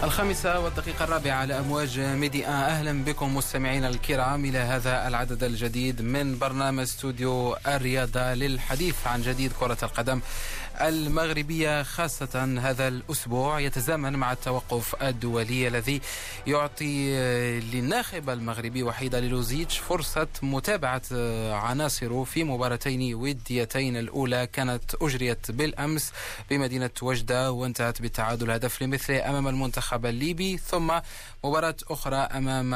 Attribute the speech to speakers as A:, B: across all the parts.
A: الخامسة على أمواج ميدي 1. أهلا بكم مستمعين الكرام إلى هذا العدد الجديد من برنامج استوديو الرياضة للحديث عن جديد كرة القدم المغربية، خاصة هذا الأسبوع يتزامن مع التوقف الدولي الذي يعطي للناخب المغربي وحيد ليلوزيتش فرصة متابعة عناصره في مباراتين وديتين. الأولى كانت أجريت بالأمس بمدينة وجدة وانتهت بالتعادل هدف لمثله أمام المنتخب الليبي، ثم مباراة أخرى أمام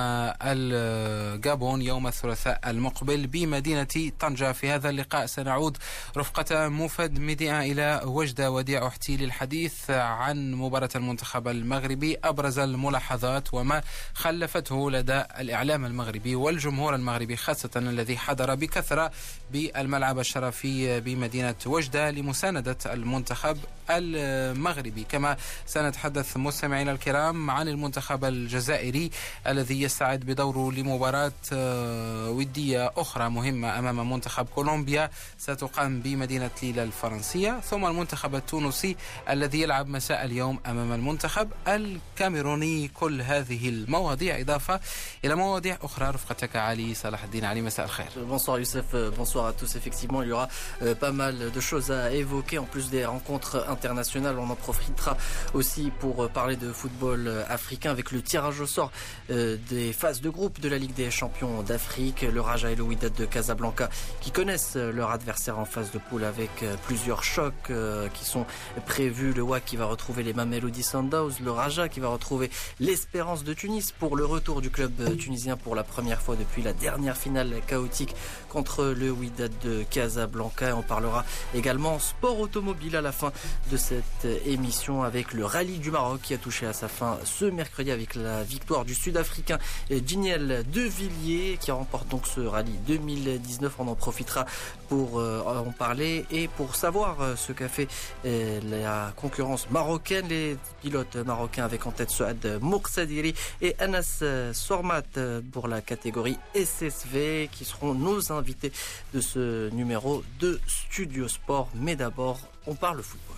A: الغابون يوم الثلاثاء المقبل بمدينة طنجة. في هذا اللقاء سنعود رفقة موفد ميديا إلى وجدة وديع أحتي للحديث عن مباراة المنتخب المغربي، أبرز الملاحظات وما خلفته لدى الإعلام المغربي والجمهور المغربي، خاصة الذي حضر بكثرة بالملعب الشرفي بمدينة وجدة لمساندة المنتخب المغربي. كما سنتحدث مستمعينا الكرام عن المنتخب الجزائري الذي يستعد بدوره لمباراة ودية أخرى مهمة أمام منتخب كولومبيا ستقام بمدينة ليلة الفرنسية، ثم المنتخب التونسي الذي يلعب مساء اليوم أمام المنتخب الكاميروني. كل هذه المواضيع إضافة إلى مواضيع أخرى رفقتك علي صلاح الدين. علي، مساء الخير.
B: Bonsoir Youssef, bonsoir à tous. Effectivement, il y aura pas mal de choses à évoquer en plus des rencontres internationales. On en profitera aussi pour parler de football africain avec le tirage au sort des phases de groupe de la Ligue des champions d'Afrique. Le Raja et le Wydad de Casablanca qui connaissent leur adversaire en phase de poule avec plusieurs chocs qui sont prévus. Le WAC qui va retrouver les Mamelodi Sundowns, le Raja qui va retrouver l'Espérance de Tunis pour le retour du club tunisien pour la première fois depuis la dernière finale chaotique contre le Wydad de Casablanca. On parlera également sport automobile à la fin de cette émission avec le rallye du Maroc qui a touché à sa fin ce mercredi avec la victoire du Sud-Africain Giniel De Villiers qui remporte donc ce rallye 2019. On en profitera pour en parler et pour savoir ce qu'a fait la concurrence marocaine. Les pilotes marocains avec en tête Souad Moursadiri et Anas Sormat pour la catégorie SSV qui seront nos invités de ce numéro de Studio Sport. Mais d'abord, on parle football.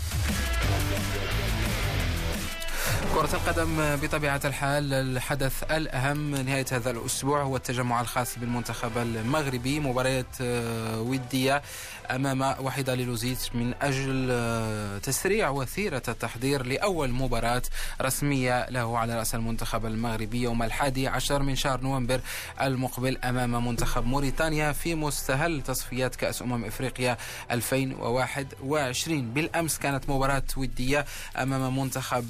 A: كرة القدم بطبيعة الحال الحدث الأهم نهاية هذا الأسبوع هو التجمع الخاص بالمنتخب المغربي، مباريات ودية أمام وحيد ليلوزيتش من أجل تسريع وثيرة التحضير لأول مباراة رسمية له على رأس المنتخب المغربي يوم 11 من شهر نوفمبر المقبل أمام منتخب موريتانيا في مستهل تصفيات كأس إفريقيا 2021. بالأمس كانت مباراة ودية أمام منتخب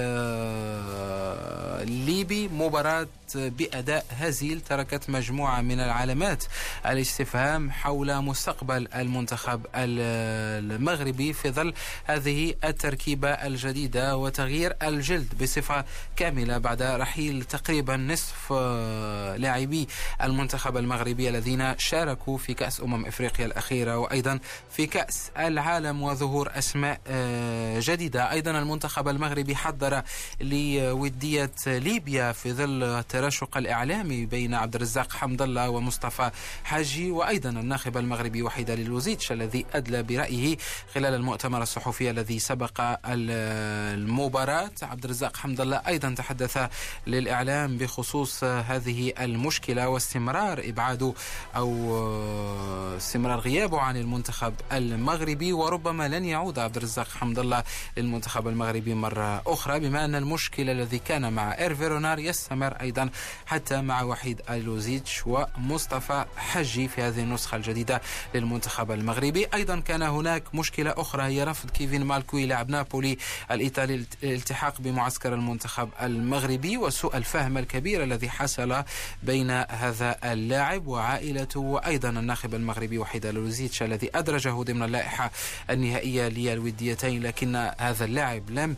A: الليبي، مباراة بأداء هزيل تركت مجموعة من العلامات الاستفهام حول مستقبل المنتخب المغربي في ظل هذه التركيبة الجديدة وتغيير الجلد بصفة كاملة بعد رحيل تقريبا نصف لاعبي المنتخب المغربي الذين شاركوا في كأس إفريقيا الأخيرة وأيضا في كأس العالم وظهور أسماء جديدة. أيضا المنتخب المغربي حضر لودية ليبيا في ظل التراشق الإعلامي بين عبد الرزاق حمد الله ومصطفى حاجي وأيضا الناخب المغربي وحيد ليلوزيتش الذي أدلى برأيه خلال المؤتمر الصحفي الذي سبق المباراة. عبد الرزاق حمد الله أيضا تحدث للإعلام بخصوص هذه المشكلة واستمرار إبعاده أو استمرار غيابه عن المنتخب المغربي، وربما لن يعود عبد الرزاق حمد الله للمنتخب المغربي مرة أخرى، بما أن المشكلة الذي كان مع إيرفي رونار يستمر أيضا حتى مع وحيد ليلوزيتش ومصطفى حجي في هذه النسخة الجديدة للمنتخب المغربي. أيضا كان هناك مشكلة أخرى هي رفض كيفين مالكوي لاعب نابولي الإيطالي الالتحاق بمعسكر المنتخب المغربي وسوء الفهم الكبير الذي حصل بين هذا اللاعب وعائلته وأيضا الناخب المغربي وحيد ليلوزيتش الذي أدرجه ضمن اللائحة النهائية للوديتين، لكن هذا اللاعب لم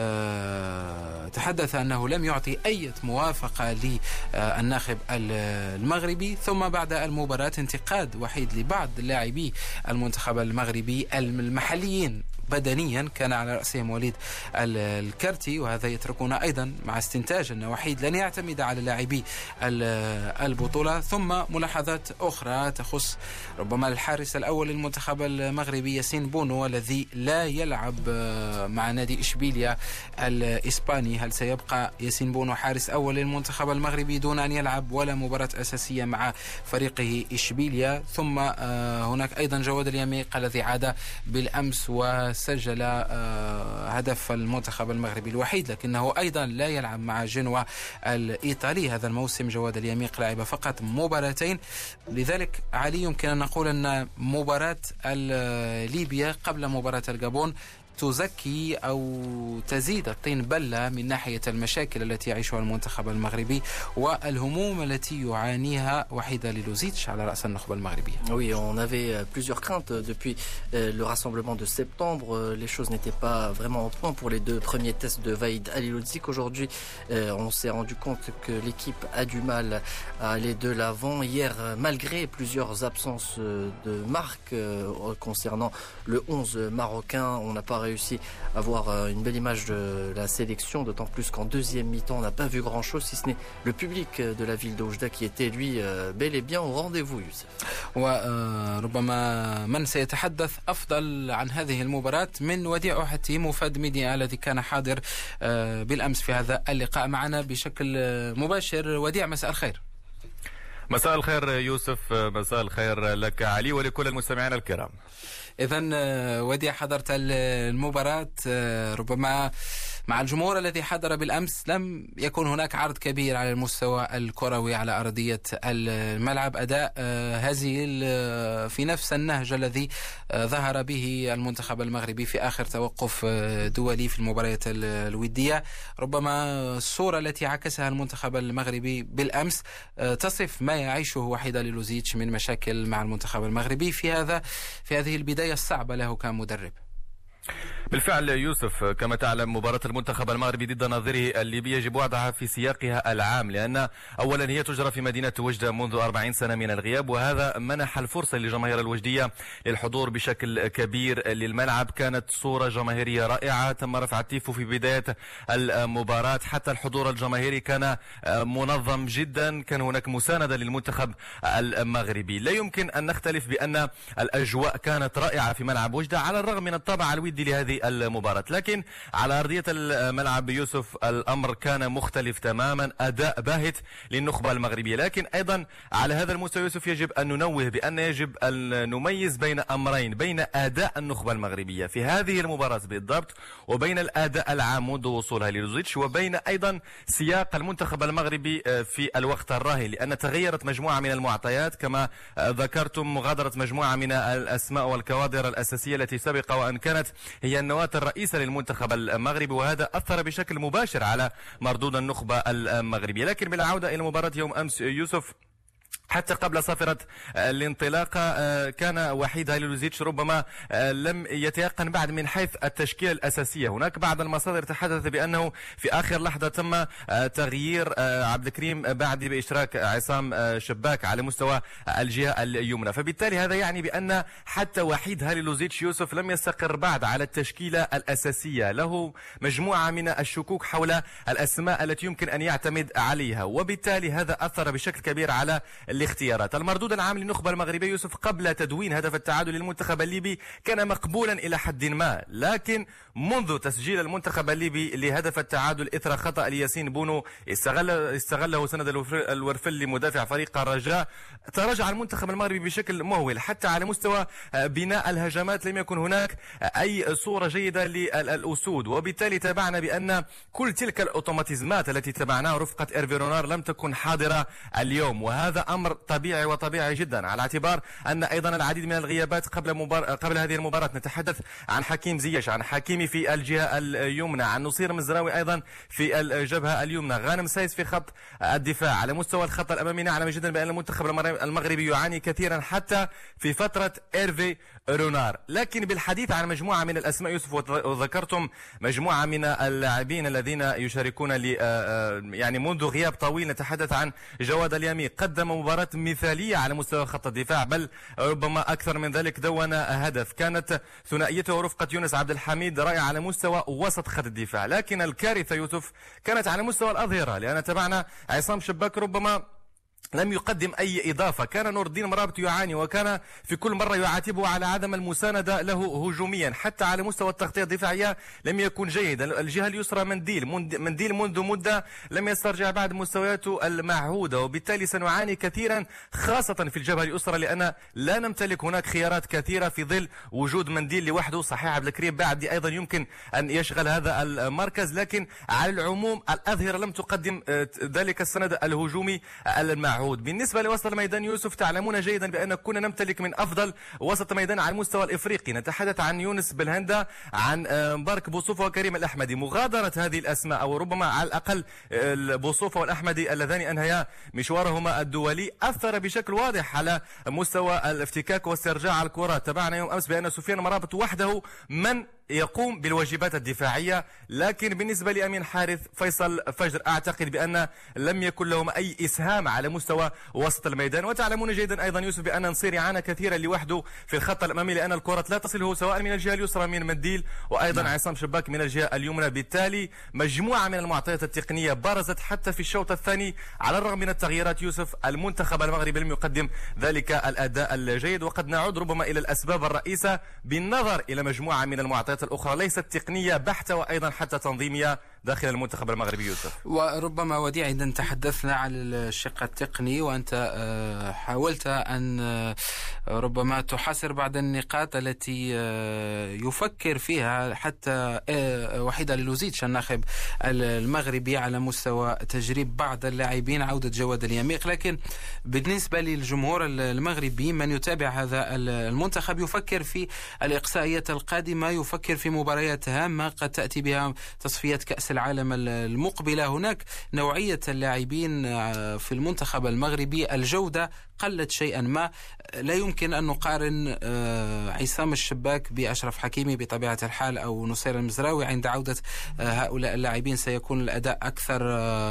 A: تحدث أنه لم يعطي أي موافقة للناخب المغربي. ثم بعد المباراة انتقاد وحيد لبعض لاعبي المنتخب المغربي المحليين بدنيا كان على رأسهم وليد الكرتي، وهذا يتركنا أيضا مع استنتاج أن وحيد لن يعتمد على لاعبي البطولة. ثم ملاحظات أخرى تخص ربما الحارس الأول للمنتخب المغربي ياسين بونو الذي لا يلعب مع نادي إشبيليا الإسباني. هل سيبقى ياسين بونو حارس أول للمنتخب المغربي دون أن يلعب ولا مباراة أساسية مع فريقه إشبيليا؟ ثم هناك أيضا جواد اليميق الذي عاد بالأمس وسجل هدف المنتخب المغربي الوحيد، لكنه أيضا لا يلعب مع جنوا الإيطالي هذا الموسم. جواد اليميق لعب فقط مباراتين. لذلك علي يمكن أن نقول أن مباراة ليبيا قبل مباراة الجابون تزكي أو تزيد الطين بلة من ناحية المشاكل التي يعيشها المنتخب المغربي والهموم التي يعانيها وحيد ليلوزيتش على رأس النخبة المغربية.
B: Oui, on avait plusieurs craintes depuis le rassemblement de septembre. Les choses n'étaient pas vraiment au point pour les deux premiers tests de Vahid Halilovic. Aujourd'hui, on s'est rendu compte que l'équipe a du mal à aller de l'avant. Hier, malgré plusieurs absences de marque concernant le 11 marocain, on n'a pas réussi à avoir une belle image de la sélection, d'autant plus qu'en deuxième mi-temps, on n'a pas vu grand-chose, si ce n'est le public de la ville d'Oujda qui était, lui, bel et bien au rendez-vous, Youssef.
A: وربما من سيتحدث أفضل عن هذه المباراة من وديع حتيم وفاد ميديا الذي كان حاضر بالأمس في هذا اللقاء معنا بشكل مباشر. وديع، مساء الخير.
C: مساء الخير يوسف، مساء الخير لك علي ولكل المستمعين الكرام.
A: إذن وديع، حضرت المباراة ربما مع الجمهور الذي حضر بالأمس. لم يكن هناك عرض كبير على المستوى الكروي على أرضية الملعب، أداء هزيل في نفس النهج الذي ظهر به المنتخب المغربي في آخر توقف دولي في المباريات الودية. ربما الصورة التي عكسها المنتخب المغربي بالأمس تصف ما يعيشه وحيد ليلوزيتش من مشاكل مع المنتخب المغربي في هذه البداية الصعبة له كمدرب.
C: بالفعل يوسف، كما تعلم مباراة المنتخب المغربي ضد نظيره الليبي يجب وضعها في سياقها العام، لأن أولا هي تجرى في مدينة وجدة منذ 40 سنة من الغياب، وهذا منح الفرصة للجماهير الوجدية للحضور بشكل كبير للملعب. كانت صورة جماهيرية رائعة، تم رفع التيفو في بداية المباراة، حتى الحضور الجماهيري كان منظم جدا، كان هناك مساندة للمنتخب المغربي. لا يمكن أن نختلف بأن الأجواء كانت رائعة في ملعب وجدة على الرغم من الطابع الودي لهذه المباراة، لكن على أرضية الملعب يوسف الأمر كان مختلف تماما، أداء باهت للنخبة المغربية. لكن أيضا على هذا المستوى يوسف يجب أن ننوه بأن يجب أن نميز بين أمرين، بين أداء النخبة المغربية في هذه المباراة بالضبط، وبين الأداء العام منذ وصولها ليلوزيتش، وبين أيضا سياق المنتخب المغربي في الوقت الراهن، لأن تغيرت مجموعة من المعطيات كما ذكرتم. مغادرة مجموعة من الأسماء والكوادر الأساسية التي سبق وأن كانت هي النواة الرئيسة للمنتخب المغربي، وهذا أثر بشكل مباشر على مردود النخبة المغربية. لكن بالعودة إلى مباراة يوم أمس يوسف، حتى قبل صافرة الانطلاقة كان وحيد هاليلوزيتش ربما لم يتيقن بعد من حيث التشكيلة الأساسية. هناك بعض المصادر تحدث بأنه في آخر لحظة تم تغيير عبد الكريم بعد بإشراك عصام شباك على مستوى الجهة اليمنى، فبالتالي هذا يعني بأن حتى وحيد هاليلوزيتش يوسف لم يستقر بعد على التشكيلة الأساسية، له مجموعة من الشكوك حول الأسماء التي يمكن أن يعتمد عليها، وبالتالي هذا أثر بشكل كبير على الاختيارات. المردود العام للنخبة المغربية يوسف قبل تدوين هدف التعادل للمنتخب الليبي كان مقبولا إلى حد ما، لكن منذ تسجيل المنتخب الليبي لهدف التعادل إثر خطأ لياسين بونو استغله سند الورفلي مدافع فريق الرجاء، تراجع المنتخب المغربي بشكل مهول. حتى على مستوى بناء الهجمات لم يكن هناك أي صورة جيدة للأسود، وبالتالي تابعنا بأن كل تلك الأوتوماتيزمات التي تبعناها رفقة إيرفي رونار لم تكن حاضرة اليوم، وهذا أمر طبيعي وطبيعي جدا، على اعتبار أن أيضا العديد من الغيابات قبل هذه المباراة. نتحدث عن حكيم زياش، عن حكيمي في الجهة اليمنى، عن نصير مزراوي أيضا في الجبهة اليمنى، غانم سايس في خط الدفاع. على مستوى الخط الأمامي نعلم جدا بأن المنتخب المغربي يعاني كثيرا حتى في فترة إيرفي رونار. لكن بالحديث عن مجموعة من الأسماء يوسف، وذكرتم مجموعة من اللاعبين الذين يشاركون يعني منذ غياب طويل، نتحدث عن جواد اليميق، قدم مباراة مباراة مثالية على مستوى خط الدفاع، بل ربما أكثر من ذلك. دون هدف. كانت ثنائيته رفقة يونس عبد الحميد رائعة على مستوى وسط خط الدفاع، لكن الكارثة يوسف كانت على مستوى الأظهرة، لأن تابعنا عصام شباك ربما لم يقدم أي إضافة. كان نور الدين مرابط يعاني، وكان في كل مرة يعاتبه على عدم المساندة له هجوميا. حتى على مستوى التغطية الدفاعية لم يكن جيدا. الجهة اليسرى منديل منذ مدة لم يسترجع بعد مستوياته المعهودة، وبالتالي سنعاني كثيرا خاصة في الجبهة اليسرى، لأن لا نمتلك هناك خيارات كثيرة في ظل وجود منديل لوحده. صحيح عبد الكريم بعد أيضا يمكن أن يشغل هذا المركز، لكن على العموم الأظهرة لم تقدم ذلك السند الهجومي المعهود. بالنسبة لوسط الميدان يوسف، تعلمون جيدا بأن كنا نمتلك من أفضل وسط ميدان على المستوى الإفريقي. نتحدث عن يونس بالهندا، عن مبارك بوصوفة وكريم الأحمدي. مغادرة هذه الأسماء، أو ربما على الأقل بوصوفة والأحمدي اللذان أنهيا مشوارهما الدولي، أثر بشكل واضح على مستوى الافتكاك واسترجاع الكرة. تابعنا يوم أمس بأن سفيان مرابط وحده من يقوم بالواجبات الدفاعية، لكن بالنسبة لأمين حارث فيصل فجر أعتقد بأن لم يكن لهم أي إسهام على مستوى وسط الميدان. وتعلمون جيدا أيضا يوسف بأن نصير يعانى كثيرا لوحده في الخط الأمامي، لأن الكرة لا تصله سواء من الجهة اليسرى من منديل وأيضا عصام شباك من الجهة اليمنى. بالتالي مجموعة من المعطيات التقنية برزت حتى في الشوط الثاني. على الرغم من التغييرات يوسف، المنتخب المغربي لم يقدم ذلك الأداء الجيد، وقد نعود ربما إلى الأسباب الرئيسة بالنظر إلى مجموعة من المعطيات الأخرى ليست تقنية بحتة وأيضا حتى تنظيمية داخل المنتخب المغربي يوسف.
A: وربما وديع إذا تحدثنا عن الشق التقني، وأنت حاولت أن ربما تحاصر بعض النقاط التي يفكر فيها حتى وحيد لوزيتش الناخب المغربي على مستوى تجريب بعض اللاعبين، عودة جواد اليميق. لكن بالنسبة للجمهور المغربي من يتابع هذا المنتخب يفكر في الإقصائيات القادمة، يفكر في مباريات هامة قد تأتي بها تصفيات كأس العالم المقبلة. هناك نوعية اللاعبين في المنتخب المغربي الجودة قلت شيئا ما. لا يمكن أن نقارن عصام الشباك بأشرف حكيمي بطبيعة الحال أو نصير المزراوي. عند عودة هؤلاء اللاعبين سيكون الأداء أكثر،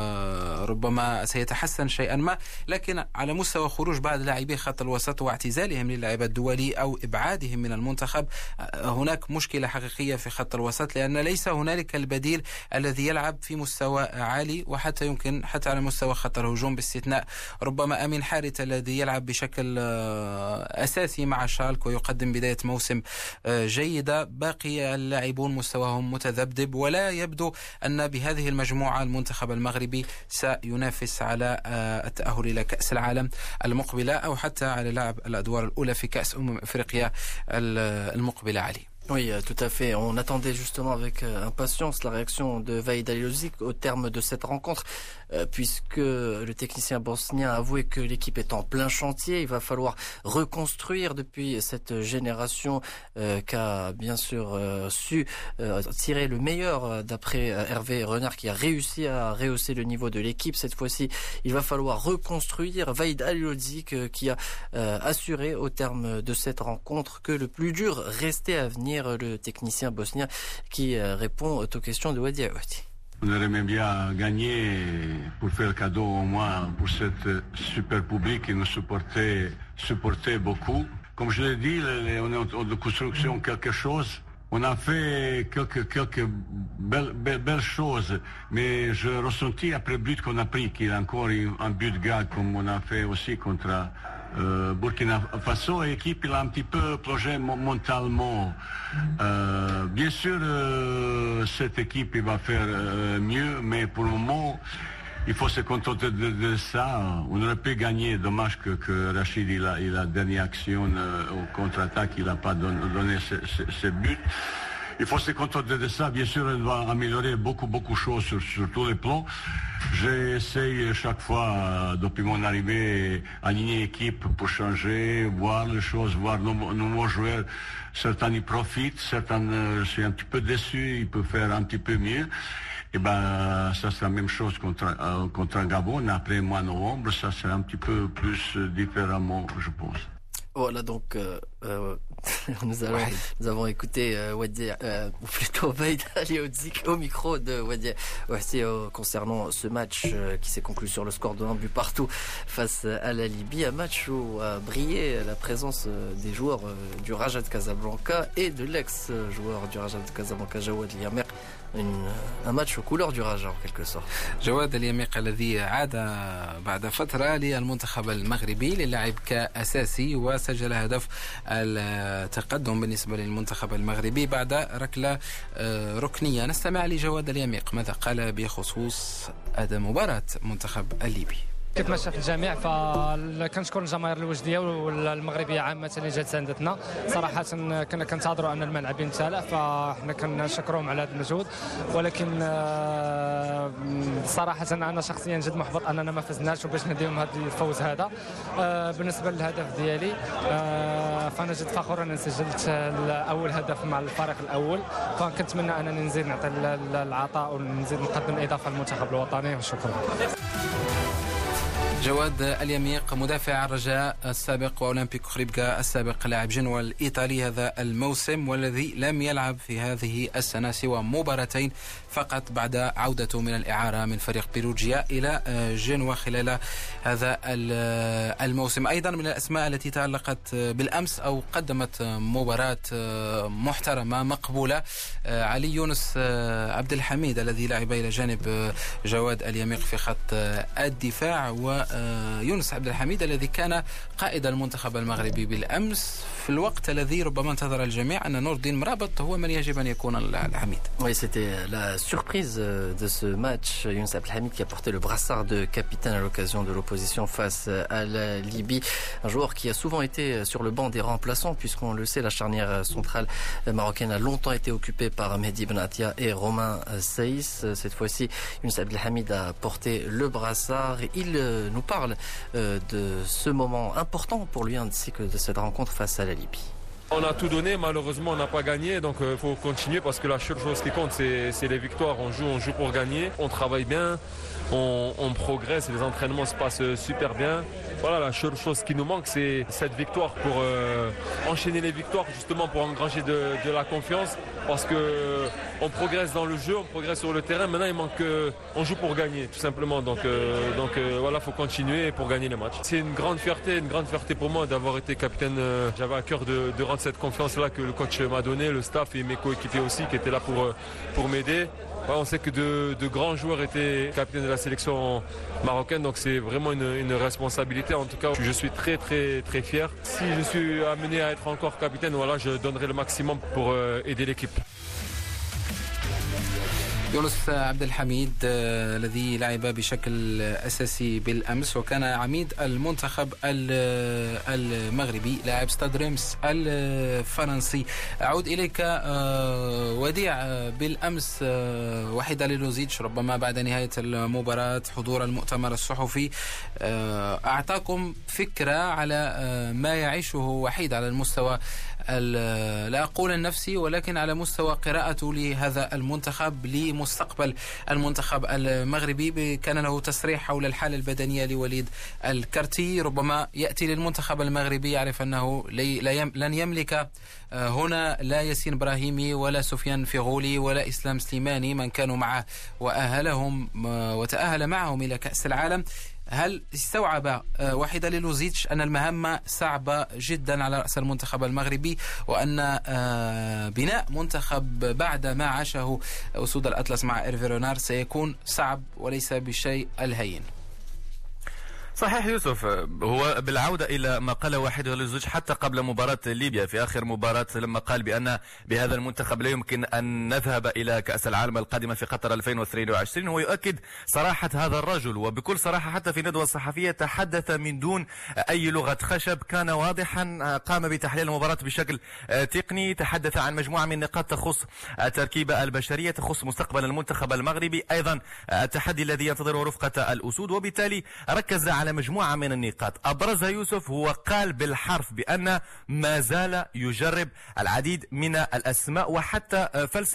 A: ربما سيتحسن شيئا ما. لكن على مستوى خروج بعض لاعبي خط الوسط واعتزالهم للعب الدولي أو إبعادهم من المنتخب، هناك مشكلة حقيقية في خط الوسط، لأن ليس هنالك البديل الذي يلعب في مستوى عالي، وحتى يمكن حتى على مستوى خط الهجوم باستثناء ربما أمين حارث الذي يلعب بشكل أساسي مع شالك ويقدم بداية موسم جيدة. باقي اللاعبون مستواهم متذبذب، ولا يبدو أن بهذه المجموعة المنتخب المغربي سينافس على التأهل إلى كأس العالم المقبلة أو حتى على لعب الأدوار الأولى في كأس أفريقيا المقبلة. علي.
B: Oui, tout à fait. On attendait justement avec impatience la réaction de Vahid Halilhodžić au terme de cette rencontre, puisque le technicien bosnien a avoué que l'équipe est en plein chantier. Il va falloir reconstruire depuis cette génération qu'a bien sûr su tirer le meilleur d'après Hervé Renard, qui a réussi à rehausser le niveau de l'équipe. Cette fois-ci, il va falloir reconstruire. Vahid Halilhodžić qui a assuré au terme de cette rencontre que le plus dur restait à venir, le technicien bosnien qui répond aux questions de Wadi Awati.
D: On aimerait bien gagner pour faire le cadeau au moins pour cette super public qui nous supportait beaucoup. Comme je l'ai dit, on est en construction quelque chose. On a fait quelques belles choses, mais je ressentis après le but qu'on a pris qu'il y a encore un but de gars comme on a fait aussi contre Burkina Faso, et l'équipe il a un petit peu plongé mentalement. Bien sûr, cette équipe il va faire mieux, mais pour le moment, il faut se contenter de ça. On aurait pu gagner. Dommage que Rachid il a dernière action au contre-attaque, il n'a pas donné ce but. Il faut se contenter de ça. Bien sûr, on doit améliorer beaucoup de choses sur tous les plans. J'essaye chaque fois, depuis mon arrivée, aligner l'équipe pour changer, voir les choses, voir nos nouveaux joueurs. Certains y profitent, certains, je suis un petit peu déçu, ils peuvent faire un petit peu mieux. Et ben, ça c'est la même chose contre Gabon. Après mois novembre, ça c'est un petit peu plus différemment, je pense.
B: Voilà, donc nous avons écouté Wadie, ou plutôt Vaïd Aliodzik au micro de Wadie concernant ce match qui s'est conclu sur le score de 1 but partout face à la Libye. Un match où a brillé la présence des joueurs du Raja de Casablanca et de l'ex-joueur du Raja de Casablanca, Jawad Eliamer. Un match aux couleurs du Raja en quelque sorte.
A: جواد اليميق الذي عاد بعد فترة للمنتخب المغربي للعب كأساسي وسجل هدف التقدم بالنسبة للمنتخب المغربي بعد ركلة ركنية. نستمع لجواد اليميق ماذا قال بخصوص أداء مباراة المنتخب الليبي.
E: كيف في الجميع فكنشكر الجماهير الوجديه والمغربيه عامه اللي جات ساندتنا صراحه. كنا كنتظروا ان الملعب يمتلأ فاحنا كنشكرهم على هذا المجهود، ولكن صراحه انا شخصيا جد محبط اننا ما فزناش وباش نديهم هذا الفوز هذا. بالنسبه للهدف ديالي فانا جد فخور انني سجلت اول هدف مع الفريق الاول، فكنتمنى انني نزيد نعطي العطاء ونزيد نقدم الاضافه للمنتخب الوطني وشكرا.
A: جواد اليميق مدافع الرجاء السابق وأولمبيك خريبكا السابق لاعب جنوة الإيطالي هذا الموسم، والذي لم يلعب في هذه السنة سوى مباراتين فقط بعد عودته من الإعارة من فريق بيروجيا إلى جنوة خلال هذا الموسم. أيضا من الأسماء التي تألقت بالأمس أو قدمت مباراة محترمة مقبولة علي يونس عبد الحميد الذي لعب إلى جانب جواد اليميق في خط الدفاع، ويونس عبد الحميد الذي كان قائد المنتخب المغربي بالأمس في الوقت الذي ربما انتظر الجميع أن نور الدين مرابط هو من يجب أن يكون الحميد.
B: Oui, c'était la surprise de ce match. Younous Abdelhamid qui a porté le brassard de capitaine à l'occasion de l'opposition face à la Libye. Un joueur qui a souvent été sur le banc des remplaçants, puisqu'on le sait, la charnière centrale marocaine a longtemps été occupée par Mehdi Benatia et Romain Saïs. Cette fois-ci, Younous Abdelhamid a porté le brassard. Il nous parle de ce moment important pour lui, ainsi que de cette rencontre face à la Libye.
F: On a tout donné, malheureusement on n'a pas gagné, donc il faut continuer parce que la seule chose qui compte c'est les victoires. On joue pour gagner, on travaille bien, on progresse, les entraînements se passent super bien. Voilà, la seule chose qui nous manque c'est cette victoire pour enchaîner les victoires, justement pour engranger de la confiance, parce que on progresse dans le jeu, on progresse sur le terrain. Maintenant il manque on joue pour gagner tout simplement, donc voilà, faut continuer pour gagner les matchs. C'est une grande fierté pour moi d'avoir été capitaine. J'avais à cœur de rendre cette confiance-là que le coach m'a donné, le staff et mes coéquipiers aussi qui étaient là pour m'aider. Ouais, on sait que de grands joueurs étaient capitaines de la sélection marocaine, donc c'est vraiment une responsabilité. En tout cas, je suis très très très fier. Si je suis amené à être encore capitaine, voilà, je donnerai le maximum pour aider l'équipe.
A: يونس عبد الحميد الذي لعب بشكل أساسي بالأمس وكان عميد المنتخب المغربي لاعب ستاد ريمس الفرنسي. أعود إليك وديع. بالأمس وحيد ليلوزيتش ربما بعد نهاية المباراة حضور المؤتمر الصحفي أعطاكم فكرة على ما يعيشه وحيد على المستوى لا أقول النفسي ولكن على مستوى قراءته لهذا المنتخب لمستقبل المنتخب المغربي. كان له تصريح حول الحالة البدنية لوليد الكرتي، ربما يأتي للمنتخب المغربي يعرف أنه لن يملك هنا لا ياسين إبراهيمي ولا سفيان فيغولي ولا إسلام سليماني من كانوا معه وأهلهم وتأهل معهم إلى كأس العالم. هل استوعب وحيد ليلوزيتش أن المهمة صعبة جدا على رأس المنتخب المغربي وأن بناء منتخب بعد ما عاشه أسود الأطلس مع إيرفي رونار سيكون صعب وليس بالشيء الهين؟
C: صحيح يوسف، هو بالعودة إلى ما قال وحيد ليلوزيتش حتى قبل مباراة ليبيا في آخر مباراة لما قال بأن بهذا المنتخب لا يمكن أن نذهب إلى كأس العالم القادمة في قطر 2022. هو يؤكد صراحة هذا الرجل وبكل صراحة حتى في ندوة صحفية تحدث من دون أي لغة خشب، كان واضحا، قام بتحليل المباراة بشكل تقني، تحدث عن مجموعة من النقاط تخص التركيبة البشرية، تخص مستقبل المنتخب المغربي، أيضا التحدي الذي ينتظره رفقة الأسود، وبالتالي ركز على على مجموعة من النقاط أبرزها يوسف. هو قال بالحرف بأن ما زال يجرب العديد من الأسماء وحتى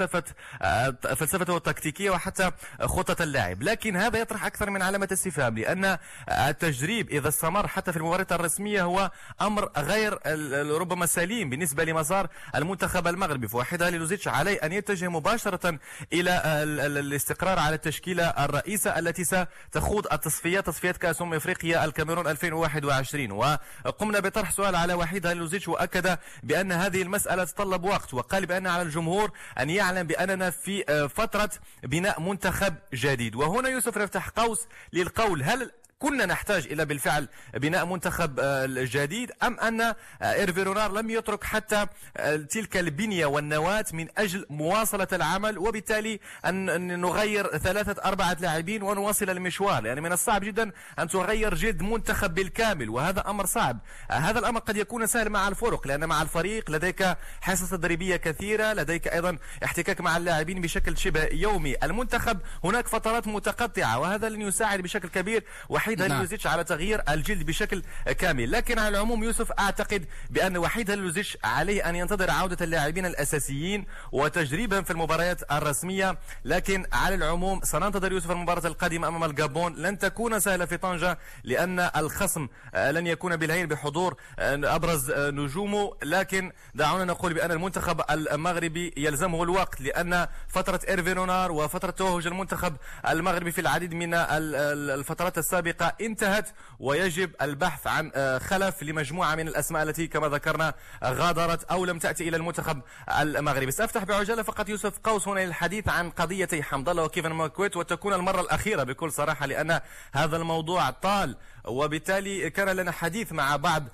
C: فلسفته التكتيكية وحتى خطة اللاعب، لكن هذا يطرح أكثر من علامة استفهام، لأن التجريب إذا استمر حتى في المباريات الرسمية هو أمر غير ربما سليم بالنسبة لمسار المنتخب المغربي. فوحيد هاليلوزيتش عليه أن يتجه مباشرة إلى الاستقرار على التشكيلة الرئيسة التي ستخوض تصفيات كأس إفريقيا الكاميرون 2021. وقمنا بطرح سؤال على وحيد هاليلوزيتش وأكد بأن هذه المسألة تتطلب وقت، وقال بأن على الجمهور أن يعلم بأننا في فترة بناء منتخب جديد. وهنا يوسف نفتح قوس للقول: هل كنا نحتاج إلى بالفعل بناء منتخب جديد، أم أن إيرفي رونار لم يترك حتى تلك البنية والنواة من أجل مواصلة العمل، وبالتالي أن نغير 3-4 لاعبين ونواصل المشوار؟ يعني من الصعب جدا أن تغير جلد منتخب بالكامل، وهذا أمر صعب. هذا الأمر قد يكون سهل مع الفرق، لأن مع الفريق لديك حصص تدريبية كثيرة، لديك أيضا احتكاك مع اللاعبين بشكل شبه يومي. المنتخب هناك فترات متقطعة، وهذا لن يساعد بشكل كبير وحيد هاليلوزيتش على تغيير الجلد بشكل كامل. لكن على العموم يوسف أعتقد بأن وحيد هاليلوزيتش عليه أن ينتظر عودة اللاعبين الأساسيين وتجريبهم في المباريات الرسمية. لكن على العموم سننتظر يوسف المباراة القادمة أمام الغابون، لن تكون سهلة في طنجة، لأن الخصم لن يكون بالهين بحضور أبرز نجومه. لكن دعونا نقول بأن المنتخب المغربي يلزمه الوقت، لأن فترة إيرفي رونار وفترة توهج المنتخب المغربي في العديد من الفترات السابقة انتهت، ويجب البحث عن خلف لمجموعة من الأسماء التي كما ذكرنا غادرت أو لم تأتي إلى المنتخب المغربي. سأفتح بعجالة فقط يوسف قوس هنا للحديث عن قضيتي حمد الله وكيفن ماكويت، وتكون المرة الأخيرة بكل صراحة، لأن هذا الموضوع طال، وبالتالي كان لنا حديث مع بعض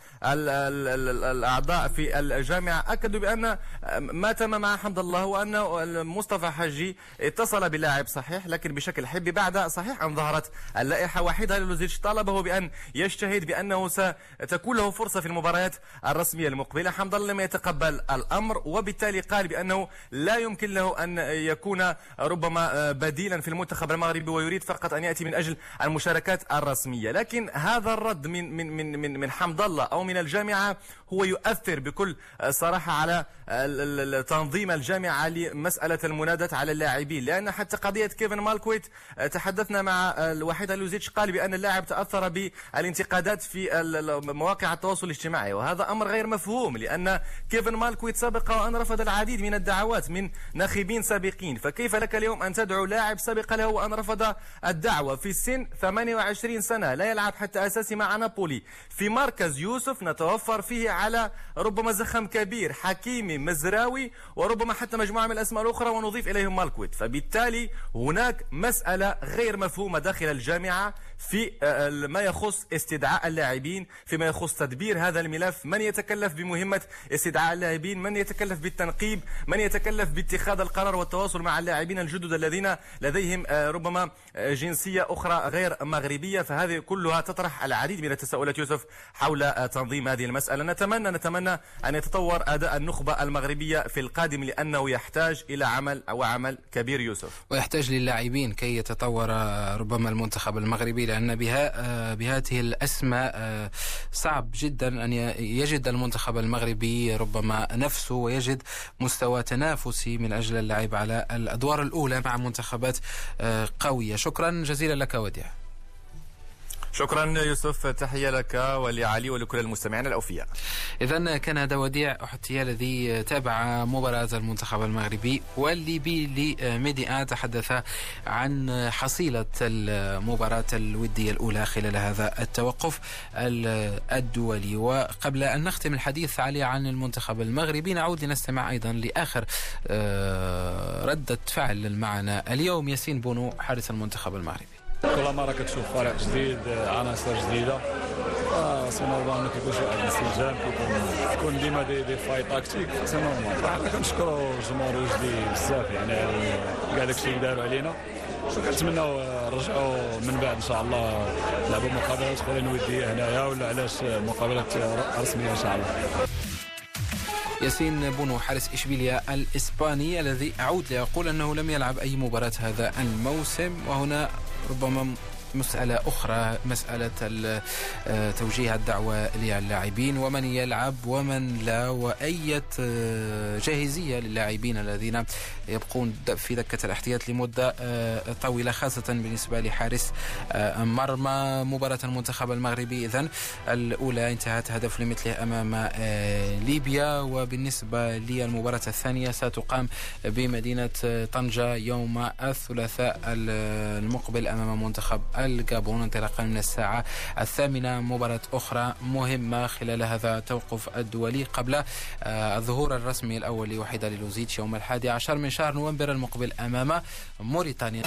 C: الأعضاء في الجامعة أكدوا بأن ما تم مع حمد الله وأن مصطفى حجي اتصل باللاعب صحيح، لكن بشكل حبي بعد صحيح أن ظهرت اللائحة. وحيد هاليلوزيتش طالبه بأن يجتهد بأنه ستكون له فرصة في المباريات الرسمية المقبلة. حمد الله لم يتقبل الأمر، وبالتالي قال بأنه لا يمكن له أن يكون ربما بديلا في المنتخب المغربي، ويريد فقط أن يأتي من أجل المشاركات الرسمية. لكن هذا الرد من حمد الله أو من الجامعة هو يؤثر بكل صراحة على تنظيم الجامعة لمسألة المنادات على اللاعبين، لأن حتى قضية كيفن مالكويت تحدثنا مع وحيد هاليلوزيتش قال بأن اللاعب تأثر بالانتقادات في مواقع التواصل الاجتماعي، وهذا أمر غير مفهوم، لأن كيفن مالكويت سبق وأن رفض العديد من الدعوات من ناخبين سابقين، فكيف لك اليوم أن تدعو لاعب سبق له وأن رفض الدعوة في سن 28 سنة لا يلعب حتى أساسي مع نابولي في مركز يوسف نتوفر فيه على ربما زخم كبير، حكيمي، مزراوي، وربما حتى مجموعة من الأسماء الأخرى ونضيف إليهم مالكويت. فبالتالي هناك مسألة غير مفهومة داخل الجامعة في ما يخص استدعاء اللاعبين، فيما يخص تدبير هذا الملف. من يتكلف بمهمة استدعاء اللاعبين؟ من يتكلف بالتنقيب؟ من يتكلف باتخاذ القرار والتواصل مع اللاعبين الجدد الذين لديهم ربما جنسية أخرى غير مغربية؟ فهذه كلها تطرح العديد من التساؤلات يوسف حول تنظيم هذه المسألة. نتمنى أن يتطور أداء النخبة المغربية في القادم، لأنه يحتاج إلى عمل كبير يوسف،
A: ويحتاج للاعبين كي يتطور ربما المنتخب المغربي، لأن بهذه الأسماء صعب جدا أن يجد المنتخب المغربي ربما نفسه ويجد مستوى تنافسي من أجل اللعب على الأدوار الأولى مع منتخبات قوية. شكرا جزيلا لك وديع.
C: شكرا يوسف، تحية لك ولعلي ولكل المستمعين الأوفياء.
A: إذن كان هذا وديع أحتيا الذي تابع مباراة المنتخب المغربي والليبي لميدي تحدث عن حصيلة المباراة الودية الأولى خلال هذا التوقف الدولي. وقبل أن نختم الحديث علي عن المنتخب المغربي نعود لنستمع أيضا لآخر ردة فعل معنا اليوم ياسين بونو حارس المنتخب المغربي.
G: كل مرة كتشوف فريق جديد، عناصر جديدة، سي نورمال ما كيكونش واحد الاستنجاب، كيكون ديما دي فاي تاكتيك، سي نورمال. حنا كنشكروا الجمهور الوجدي بزاف، يعني كاع داكشي اللي داروا علينا، كنتمناو نرجعوا من بعد ان شاء الله نلعبوا مقابلات اخرين وديه هنايا، ولا علاش مقابلات رسميه ان شاء الله.
A: ياسين بونو حارس إشبيلية الإسباني الذي أعود لأقول أنه لم يلعب أي مباراة هذا الموسم، وهنا ربما مسألة أخرى، مسألة توجيه الدعوة للاعبين ومن يلعب ومن لا، وأي جاهزية للاعبين الذين يبقون في دكة الاحتياط لمدة طويلة، خاصة بالنسبة لحارس مرمى. مباراة المنتخب المغربي إذن الأولى انتهت هدف لمثله أمام ليبيا، وبالنسبة للمباراة الثانية ستقام بمدينة طنجة يوم الثلاثاء المقبل أمام منتخب الغابون انطلاقا من الساعة 8. مباراة أخرى مهمة خلال هذا التوقف الدولي قبل الظهور الرسمي الأول لوحيدة لوزيتش يوم 11 من شهر نوفمبر المقبل أمام موريتانيا.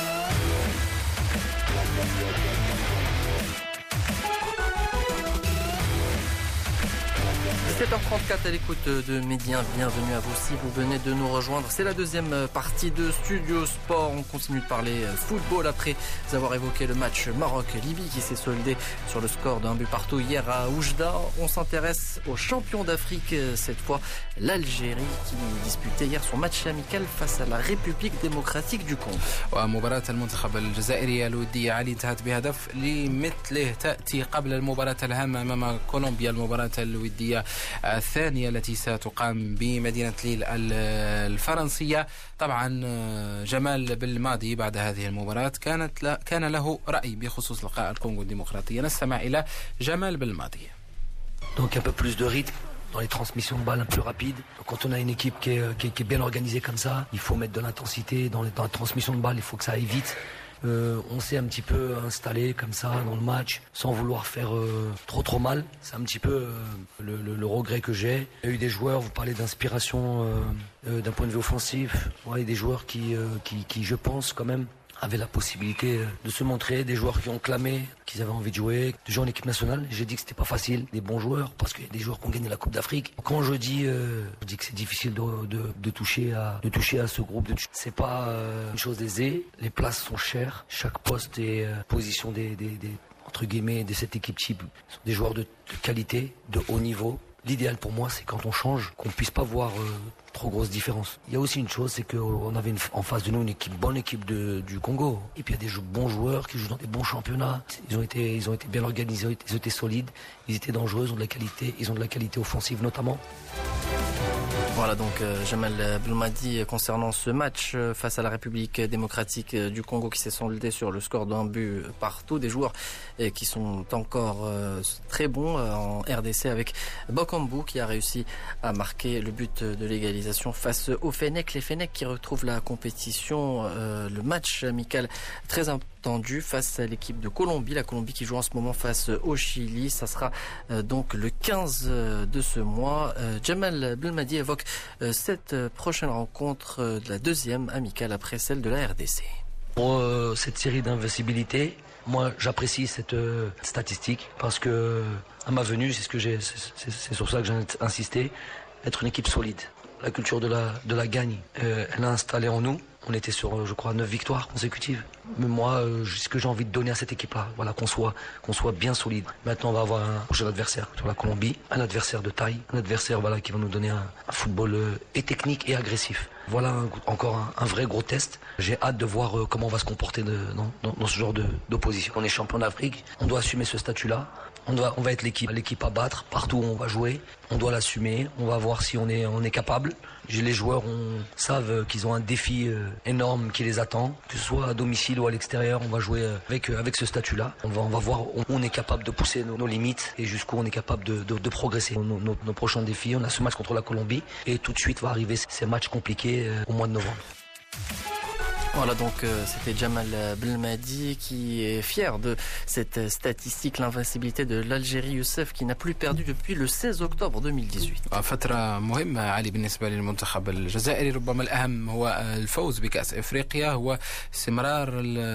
B: 17h34 à l'écoute de Média, bienvenue à vous si vous venez de nous rejoindre. C'est la deuxième partie de Studio Sport. On continue de parler football après avoir évoqué le match Maroc-Libye qui s'est soldé sur le score d'un but partout hier à Oujda. On s'intéresse aux champions d'Afrique, cette fois l'Algérie qui disputait hier son match amical face à la République démocratique du Congo.
A: ومباراة المنتخب الجزائري الودية علي انتهت بهدف لمثله، تأتي قبل المباراة الهامة أمام كولومبيا، المباراة الودية الثانية التي ستقام بمدينة ليل الفرنسية. طبعا جمال بالماضي بعد هذه المباراة كان له رأي بخصوص لقاء الكونغو الديمقراطية. نستمع إلى جمال بالماضي.
H: Donc un peu plus de rythme dans les transmissions de balles un peu plus rapides. Donc quand on a une équipe qui est bien organisée comme ça, il faut mettre de l'intensité dans la transmission de balles, il faut que ça aille vite. On s'est un petit peu installé comme ça dans le match sans vouloir faire trop mal. C'est un petit peu le regret que j'ai. Il y a eu des joueurs, vous parlez d'inspiration d'un point de vue offensif, ouais, des joueurs qui je pense quand même avaient la possibilité de se montrer, des joueurs qui ont clamé qu'ils avaient envie de jouer, de jouer en équipe nationale. J'ai dit que c'était pas facile, des bons joueurs, parce qu'il y a des joueurs qui ont gagné la Coupe d'Afrique. Quand je dis que c'est difficile de toucher à ce groupe, c'est pas une chose aisée. Les places sont chères, chaque poste et position des entre guillemets de cette équipe type sont des joueurs de qualité, de haut niveau. L'idéal pour moi, c'est quand on change, qu'on ne puisse pas voir trop grosse différence. Il y a aussi une chose, c'est qu'on avait en face de nous une bonne équipe du Congo. Et puis il y a des bons joueurs qui jouent dans des bons championnats. Ils ont été bien organisés, ils ont été solides, ils étaient dangereux, ils ont de la qualité offensive notamment.
B: Voilà donc Jamal Belmadi concernant ce match face à la République démocratique du Congo qui s'est soldé sur le score d'un but partout. Des joueurs qui sont encore très bons en RDC avec Bokambu qui a réussi à marquer le but de l'égalisation face au Fennec. Les Fennec qui retrouvent la compétition, le match amical très tendu face à l'équipe de Colombie. La Colombie qui joue en ce moment face au Chili. Ça sera donc le 15 de ce mois. Jamal Belmadi évoque cette prochaine rencontre de la deuxième amicale après celle de la RDC.
H: Pour cette série d'invincibilité, moi j'apprécie cette statistique parce que à ma venue, c'est sur ça que j'ai insisté, être une équipe solide. La culture de la gagne, elle a installé en nous. On était sur, je crois, 9 victoires consécutives. Mais moi, ce que j'ai envie de donner à cette équipe-là, voilà, qu'on soit bien solide. Maintenant, on va avoir un prochain adversaire sur la Colombie, un adversaire de taille, un adversaire voilà, qui va nous donner un football et technique et agressif. Voilà encore un vrai gros test. J'ai hâte de voir comment on va se comporter dans ce genre d'opposition. On est champion d'Afrique, on doit assumer ce statut-là. On va être l'équipe à battre partout où on va jouer. On doit l'assumer. On va voir si on est capable. Les joueurs savent qu'ils ont un défi énorme qui les attend, que ce soit à domicile ou à l'extérieur. On va jouer avec ce statut-là. On va voir où on est capable de pousser nos limites et jusqu'où on est capable de progresser. Nos prochains défis, on a ce match contre la Colombie et tout de suite va arriver ces matchs compliqués au mois de novembre.
B: Voilà donc c'était Jamal Belmadi qui est fier de cette statistique, l'invincibilité de l'Algérie. Youssef qui n'a plus perdu depuis le 16 octobre 2018.
A: فترة مهمة علي بالنسبة للمنتخب الجزائري. ربما الأهم هو الفوز بكأس إفريقيا، هو استمرار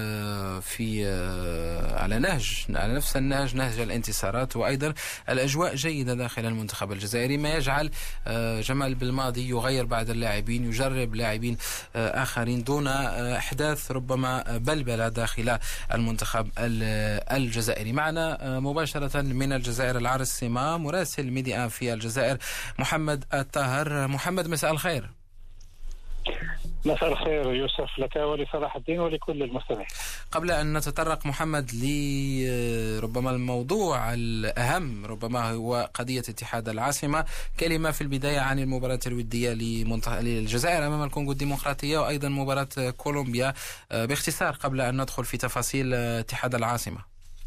A: في على نفس النهج، نهج الانتصارات، وأيضا الأجواء جيدة داخل المنتخب الجزائري، ما يجعل جمال بالماضي يغير بعض اللاعبين، يجرب لاعبين آخرين دون أحداث ربما بلبلة داخل المنتخب الجزائري. معنا مباشرة من الجزائر العاصمة مراسل ميديا في الجزائر محمد الطاهر. محمد مساء الخير.
I: مساء الخير يوسف لك ولصلاح الدين ولكل المستمعين.
A: قبل أن نتطرق محمد لربما الموضوع الأهم ربما هو قضية اتحاد العاصمة، كلمة في البداية عن المباراة الودية للجزائر أمام الكونغو الديمقراطية وأيضا مباراة كولومبيا باختصار قبل أن ندخل في تفاصيل اتحاد العاصمة.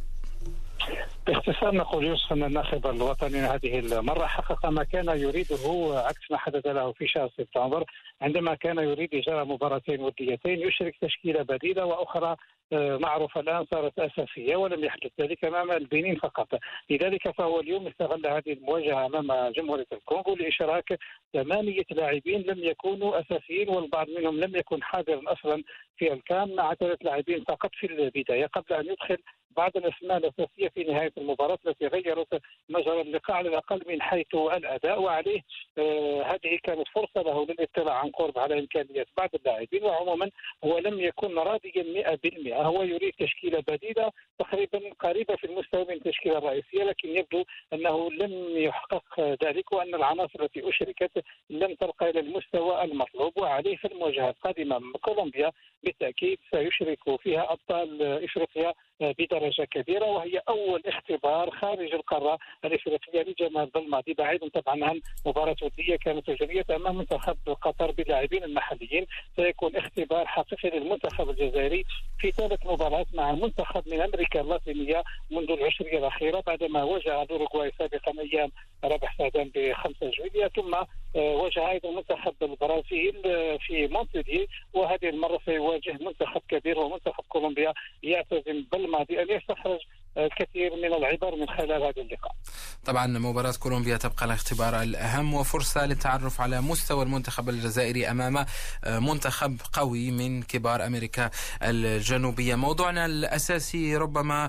I: باختصار نقول يوسف أن الناخب الوطني هذه المرة حقق ما كان يريده عكس ما حدث له في شهر سبتمبر عندما كان يريد إجراء مباراتين وديتين يشرك تشكيلة بديلة وأخرى معروفة الآن صارت أساسية، ولم يحدث ذلك أمام البنين فقط. لذلك فهو اليوم استغل هذه المواجهة أمام جمهورية الكونغو لإشراك 8 لاعبين لم يكونوا أساسيين، والبعض منهم لم يكن حاضرا أصلا في الكان، مع 3 لاعبين فقط في البداية قبل أن يدخل بعض الأسماء الأساسية في نهاية المباراة التي غيرت مجرى اللقاء على الأقل من حيث الأداء. وعليه هذه كانت فرصة له للاطلاع عن قرب على إمكانيات بعض اللاعبين، وعموما هو لم يكن راضيا 100%. هو يريد تشكيلة بديلة تقريبا قريبة في المستوى من التشكيلة الرئيسية، لكن يبدو أنه لم يحقق ذلك وأن العناصر التي أشركت لم ترقى إلى المستوى المطلوب. وعليه في المواجهة القادمة مع كولومبيا بالتأكيد سيشرك فيها أبطال إفريقيا بدرجة كبيرة، وهي أول اختبار خارج القارة الإفريقية لجمال بالماضي، بعيدا طبعا عن مباراة ودية كانت أجريت أمام منتخب قطر باللاعبين المحليين. سيكون اختبار حقيقي للمنتخب الجزائري في ثالث مباراة مع منتخب من أمريكا اللاتينية منذ العشرية الأخيرة، بعدما واجه الأوروغواي سابقا أيام رابح سعدان ب5 جويلية، ثم واجه أيضا منتخب البرازيل في مونتيدي، وهذه المرة سيواجه منتخب كبير ومنتخب كولومبيا يعتزم بالماضي أن يستخرج الكثير من العبر من خلال هذا اللقاء.
A: طبعا مباراة كولومبيا تبقى الاختبار الأهم وفرصة للتعرف على مستوى المنتخب الجزائري أمام منتخب قوي من كبار أمريكا الجنوبية. موضوعنا الأساسي ربما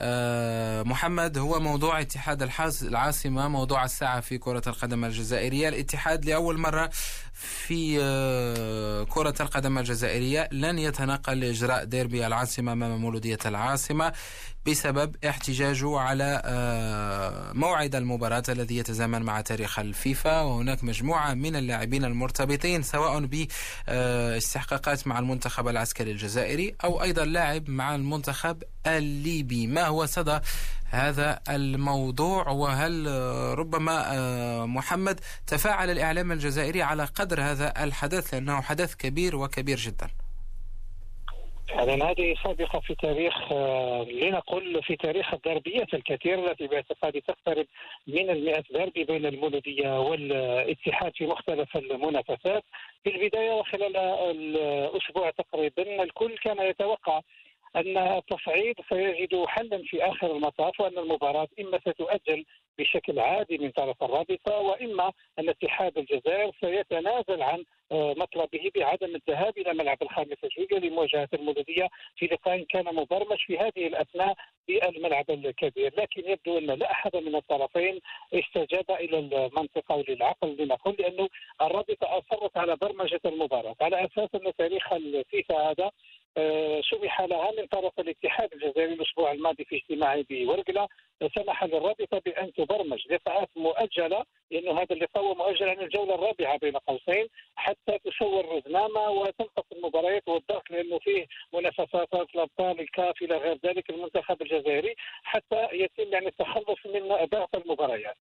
A: محمد هو موضوع اتحاد العاصمة، موضوع الساعة في كرة القدم الجزائرية. الاتحاد لأول مرة في كرة القدم الجزائرية لن يتنقل لإجراء ديربي العاصمة أمام مولودية العاصمة بسبب احتجاجه على موعد المباراة الذي يتزامن مع تاريخ الفيفا، وهناك مجموعة من اللاعبين المرتبطين سواء باستحقاقات مع المنتخب العسكري الجزائري أو أيضا لاعب مع المنتخب الليبي. ما هو صدى هذا الموضوع، وهل ربما محمد تفاعل الإعلام الجزائري على قدر هذا الحدث لأنه حدث كبير وكبير جدا؟
I: فعلا هذه سابقة في تاريخ لنقل في تاريخ الدربيات الكثيرة التي باعتقادي تقترب من 100 ديربي بين المولودية والاتحاد في مختلف المنافسات. في البداية وخلال الأسبوع تقريبا الكل كان يتوقع أن التصعيد سيجد حلا في آخر المطاف، وأن المباراة إما ستؤجل بشكل عادي من طرف الرابطة، وإما أن اتحاد الجزائر سيتنازل عن مطلبه بعدم الذهاب إلى ملعب الخامس جويلية لمواجهة المولودية في لقاء كان مبرمج في هذه الأثناء بالملعب الكبير. لكن يبدو أن لا أحد من الطرفين استجاب إلى المنطقة وللعقل لنقول، لأنه الرابطة أصرت على برمجة المباراة على أساس أن تاريخ الفيفا هذا سمح لها من طرف الاتحاد الجزائري الأسبوع الماضي في اجتماعه بورقلة، سمح للرابطة بأن تبرمج لقاءات مؤجلة، لأنه هذا اللقاء هو مؤجل عن الجولة الرابعة بين قوسين حتى تسور رزنامة وتنقص المباريات والضغط، لأنه فيه منافسات الأبطال الكاف إلى غير ذلك المنتخب الجزائري، حتى يتم يعني التخلص من ضغط المباريات.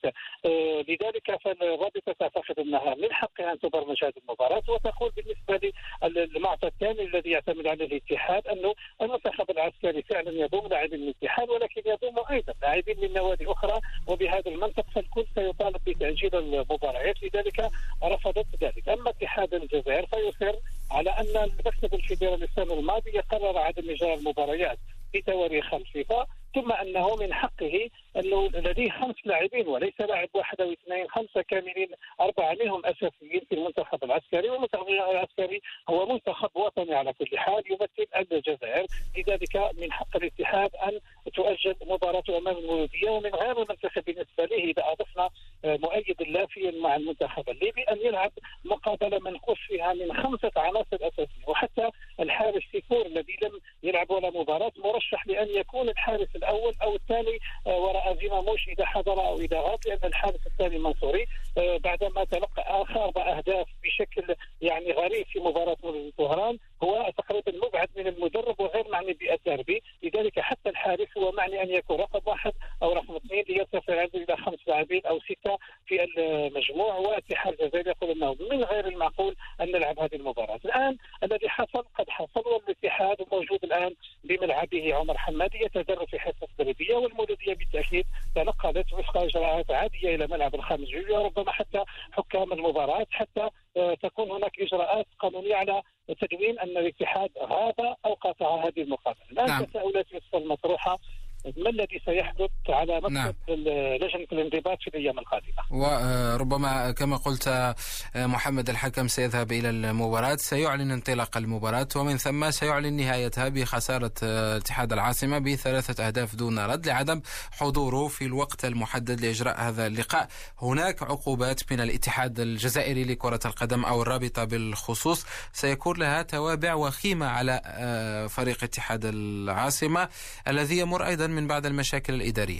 I: لذلك فالرابطة تعتقد أنها من حقها أن تبرمج هذه المباراة، وتقول بالنسبة للمعطى الثاني الذي يعتمد عليه الاتحاد أنه المنتخب العسكري فعلا يضم لاعبين من الاتحاد، ولكن يضم أيضا لاعبين من نوادي أخرى، وبهذا المنطق فالكل سيطالب بتأجيل المباريات، لذلك رفضت ذلك. أما اتحاد الجزائر فيصر على أن المكتب الفيدرالي السنة الماضية قرر عدم إجراء المباريات في تواريخ الفيفا، ثم أنه من حقه أنه لديه 5 لاعبين وليس لاعب واحد أو اثنين، 5 كاملين، 4 منهم أساسيين في المنتخب العسكري، والمنتخب العسكري هو منتخب وطني على كل حال يمثل الجزائر، لذلك من حق الاتحاد أن تؤجل مباراته أمام المولودية. ومن غير المنتخب بالنسبة له إذا أضفنا مؤيد لافيا مع المنتخب الليبي أن يلعب مقابلة منقوص فيها من 5 عناصر أساسية، وحتى الحارس الحارس سيفور الذي لم يلعب ولا مباراة مرشح لأن يكون الحارس الأول أو الثاني وراء زيماموش إذا حضر أو إذا غاب، لأن الحارس الثاني منصوري بعدما تلقى 4 أهداف بشكل يعني غريب في مباراة طهران هو تقريبا مبعد من المدرب وغير معني بالدربي، لذلك حتى الحارس هو معني أن يكون رقم 1 أو رقم 2 ليرتفع عنده إلى 5 لاعبين أو 6 في المجموع. والاتحاد الجزائري يقول أنه من غير المعقول أن نلعب هذه المباراة. الآن الذي حصل قد حصل، والاتحاد موجود الآن بملعبه عمر حمادي يتدرب في حصة تدريبية، والمولودية بالتأكيد تنقلت وفق إجراءات عادية إلى ملعب الخامس جويلية، وربما حتى حكام المباراة حتى تكون هناك إجراءات قانونية على تدوين أن الاتحاد غاب أو قاطع هذه المقابلة. الآن تساؤلات المطروحة ما الذي سيحدث على مكتب لجنة الانضباط في الأيام القادمة.
A: وربما كما قلت محمد الحكم سيذهب إلى المباراة، سيعلن انطلاق المباراة ومن ثم سيعلن نهايتها بخسارة اتحاد العاصمة ب3 أهداف دون رد لعدم حضوره في الوقت المحدد لإجراء هذا اللقاء. هناك عقوبات من الاتحاد الجزائري لكرة القدم أو الرابطة بالخصوص سيكون لها توابع وخيمة على فريق اتحاد العاصمة الذي يمر أيضا من بعض المشاكل الإدارية.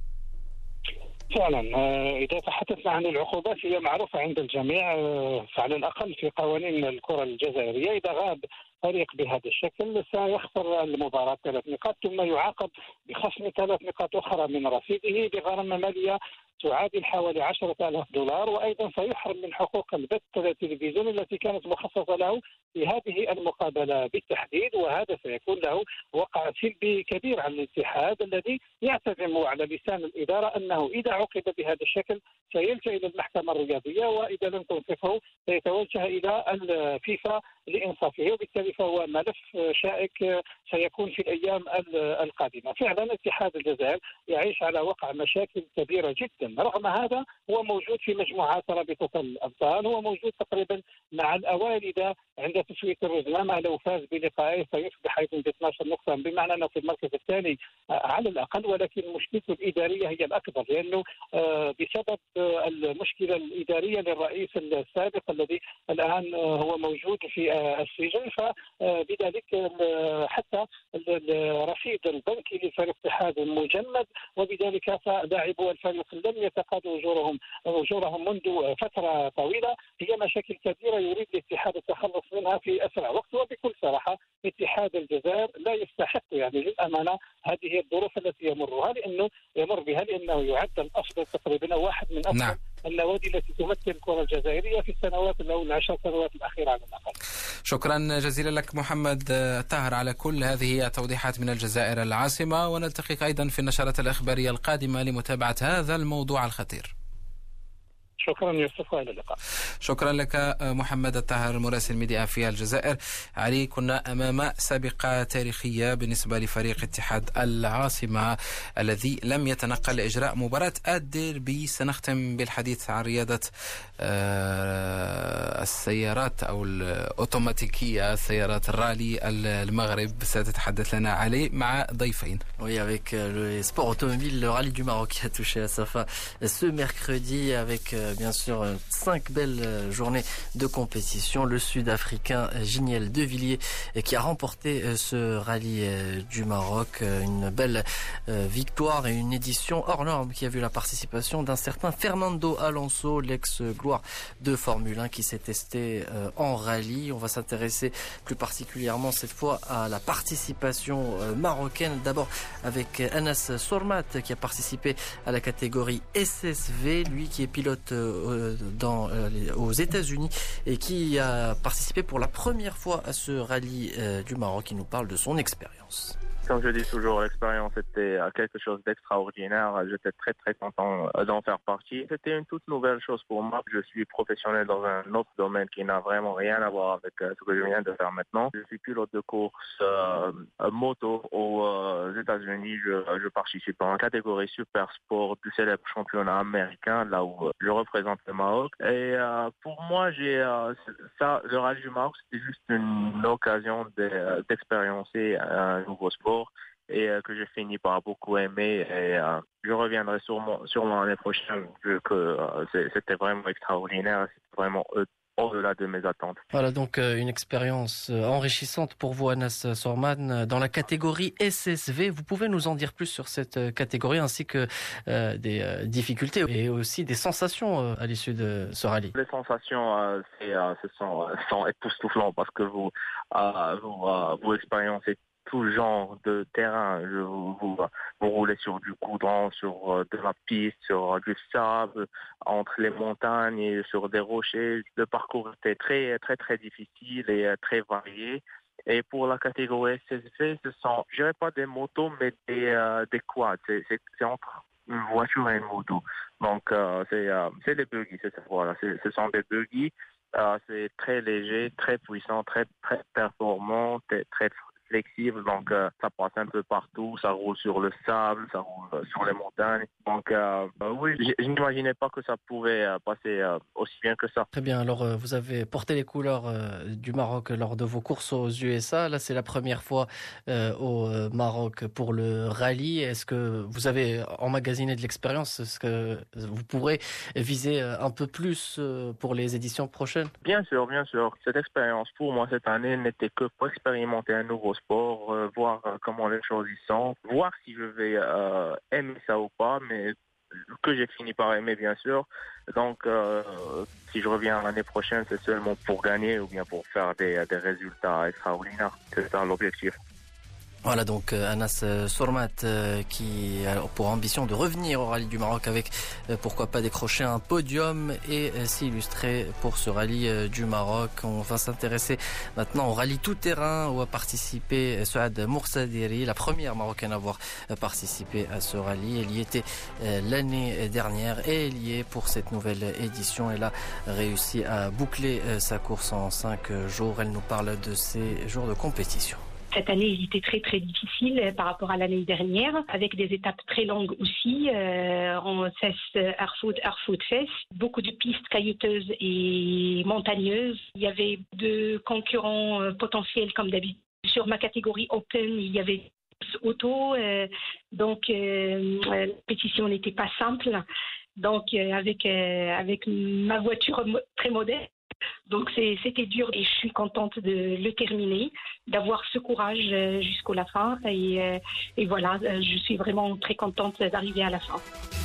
I: فعلا إذا تحدثنا عن العقوبات هي معروفة عند الجميع، فعلى الأقل في قوانين الكرة الجزائرية إذا غاب فريق بهذا الشكل سيخسر المباراة 3 نقاط ثم يعاقب بخصم 3 نقاط أخرى من رصيده بغرامة مالية تعادل حوالي $10,000، وأيضا سيحرم من حقوق البث التلفزيوني التي كانت مخصصة له في هذه المقابلة بالتحديد، وهذا سيكون له وقع سلبي كبير على الاتحاد الذي يعتزم على لسان الإدارة أنه إذا عوقب بهذا الشكل سيلجأ إلى المحكمة الرياضية، وإذا لم تنصفه سيتوجه إلى الفيفا لإنصافه، وبالتالي فهو ملف شائك سيكون في الأيام القادمة. فعلا اتحاد الجزائر يعيش على وقع مشاكل كبيرة جدا، رغم هذا هو موجود في مجموعات رابطة الأبطال، هو موجود تقريبا مع الأوائل عند تسوية الرزنامة لو فاز بلقائه سيصبح أيضا ب 12 نقطة، بمعنى أنه في المركز الثاني على الأقل، ولكن مشكلته الإدارية هي الأكبر، لأنه بسبب المشكلة الإدارية للرئيس السابق الذي الآن هو موجود في السجن، فبذلك حتى الرصيد البنكي للفريق الاتحاد مجمد، وبذلك فلاعبو الفريق لم يتقاضوا أجورهم منذ فترة طويلة. هي مشاكل كبيرة يريد الاتحاد التخلص منها في أسرع وقت، وبكل صراحة اتحاد الجزائر لا يستحق يعني للأمانة هذه الظروف التي يمر بها، لأنه يعد الأفضل تقريبا واحد من أفضل النوادي التي تمثل الكرة الجزائرية في السنوات أو 10 سنوات الأخيرة على الأقل.
A: شكرا جزيلا لك محمد الطاهر على كل هذه التوضيحات من الجزائر العاصمة، ونلتقيك أيضا في النشرات الإخبارية القادمة لمتابعة هذا الموضوع الخطير.
I: شكرا يوسف، والى اللقاء.
A: شكرا لك محمد الطاهر مراسل ميديا في الجزائر. علي، كنا أمام سابقة تاريخية بالنسبة لفريق اتحاد العاصمة الذي لم يتنقل لإجراء مباراة الديربي. سنختم بالحديث عن رياضة السيارات أو الأوتوماتيكية، سيارات الرالي المغرب. ستتحدث لنا علي مع ضيفين.
B: Oui, avec le sport automobile, le rallye du Maroc qui a touché à sa fin ce mercredi avec bien sûr 5 belles journées de compétition. Le Sud-Africain Giniel Devilliers qui a remporté ce rallye du Maroc. Une belle victoire et une édition hors norme qui a vu la participation d'un certain Fernando Alonso, l'ex-gloire de Formule 1 qui s'est testé en rallye. On va s'intéresser plus particulièrement cette fois à la participation marocaine. D'abord avec Anas Sormat qui a participé à la catégorie SSV, lui qui est pilote aux États-Unis et qui a participé pour la première fois à ce rallye du Maroc. Il nous parle de son expérience.
J: Comme je dis toujours, l'expérience était quelque chose d'extraordinaire. J'étais très très content d'en faire partie. C'était une toute nouvelle chose pour moi. Je suis professionnel dans un autre domaine qui n'a vraiment rien à voir avec ce que je viens de faire maintenant. Je suis pilote de course moto aux États-Unis. Je participe en catégorie super sport du célèbre championnat américain, là où je représente le Maroc. Et pour moi, le rallye du Maroc, c'était juste une occasion d'expériencer un nouveau sport et que j'ai fini par beaucoup aimer, et je reviendrai sûrement l'année prochaine vu que c'était vraiment extraordinaire, c'était vraiment au-delà de mes attentes.
B: Voilà donc une expérience enrichissante pour vous, Anas Sorman, dans la catégorie SSV. Vous pouvez nous en dire plus sur cette catégorie ainsi que des difficultés et aussi des sensations à l'issue de ce rallye?
J: Les sensations sont époustouflantes parce que vous expériencez tout genre de terrain. Vous roulez sur du goudron, sur de la piste, sur du sable, entre les montagnes et sur des rochers. Le parcours était très, très, très difficile et très varié. Et pour la catégorie SSV, ce sont, je dirais pas des motos, mais des quads. C'est entre une voiture et une moto. Donc, c'est des buggy, voilà. Ce sont des buggy. C'est très léger, très puissant, très, très performant, très flexible, donc ça passe un peu partout, ça roule sur le sable, ça roule sur les montagnes. Donc oui, je n'imaginais pas que ça pouvait passer aussi bien que ça.
B: Très bien, alors vous avez porté les couleurs du Maroc lors de vos courses aux USA. Là, c'est la première fois au Maroc pour le rallye. Est-ce que vous avez emmagasiné de l'expérience? Est-ce que vous pourrez viser un peu plus pour les éditions prochaines?
J: Bien sûr, bien sûr. Cette expérience pour moi cette année n'était que pour expérimenter un nouveau sport, voir comment les choses y sont, voir si je vais aimer ça ou pas, mais que j'ai fini par aimer bien sûr. Donc si je reviens l'année prochaine, c'est seulement pour gagner ou bien pour faire des résultats extraordinaires. C'est ça l'objectif.
B: Voilà donc Anas Sormat qui a pour ambition de revenir au rallye du Maroc avec pourquoi pas décrocher un podium et s'illustrer pour ce rallye du Maroc. On va s'intéresser maintenant au rallye tout-terrain où a participé Souad Moursadiri, la première Marocaine à avoir participé à ce rallye. Elle y était l'année dernière et elle y est pour cette nouvelle édition. Elle a réussi à boucler sa course en 5 jours. Elle nous parle de ses jours de compétition.
K: Cette année, il était très très difficile par rapport à l'année dernière, avec des étapes très longues aussi, en Fès, Arfoud, Fès, beaucoup de pistes caillouteuses et montagneuses. Il y avait 2 concurrents potentiels comme d'habitude. Sur ma catégorie Open, il y avait auto, donc la compétition n'était pas simple. Donc avec ma voiture très modeste. Donc c'était dur et je suis contente de le terminer, d'avoir ce courage jusqu'à la fin et voilà, je suis vraiment très contente d'arriver à la fin.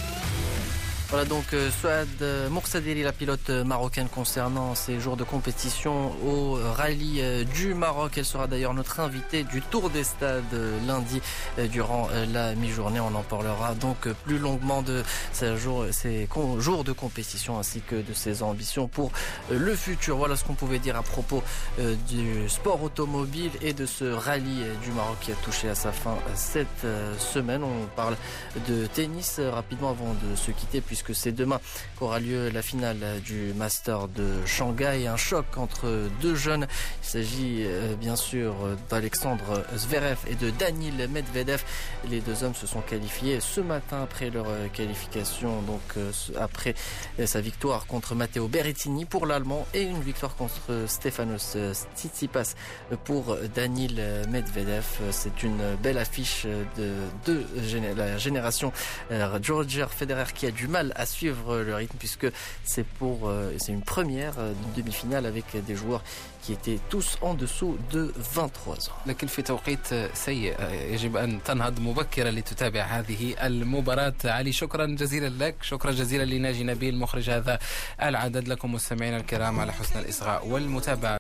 B: Voilà donc Souad Moursadiri, la pilote marocaine concernant ses jours de compétition au rallye du Maroc. Elle sera d'ailleurs notre invitée du Tour des Stades lundi durant la mi-journée. On en parlera donc plus longuement de ses jours de compétition ainsi que de ses ambitions pour le futur. Voilà ce qu'on pouvait dire à propos du sport automobile et de ce rallye du Maroc qui a touché à sa fin cette semaine. On parle de tennis rapidement avant de se quitter puisque c'est demain qu'aura lieu la finale du Master de Shanghai. Un choc entre 2 jeunes. Il s'agit bien sûr d'Alexandre Zverev et de Daniil Medvedev. Les 2 hommes se sont qualifiés ce matin après leur qualification, donc après sa victoire contre Matteo Berrettini pour l'Allemand et une victoire contre Stefanos Tsitsipas pour Daniil Medvedev. C'est une belle affiche de la génération Roger Federer qui a du mal à suivre le rythme puisque c'est une première demi-finale avec des joueurs qui étaient tous en dessous de 23 ans.
A: لكن في توقيت سيء يجب أن تنهض مبكرا لتتابع هذه المباراة. علي شكرا جزيلا لك، شكرا جزيلا لناجي نبيل مخرج هذا العدد. لكم مستمعينا الكرام على حسن الإصغاء والمتابعة.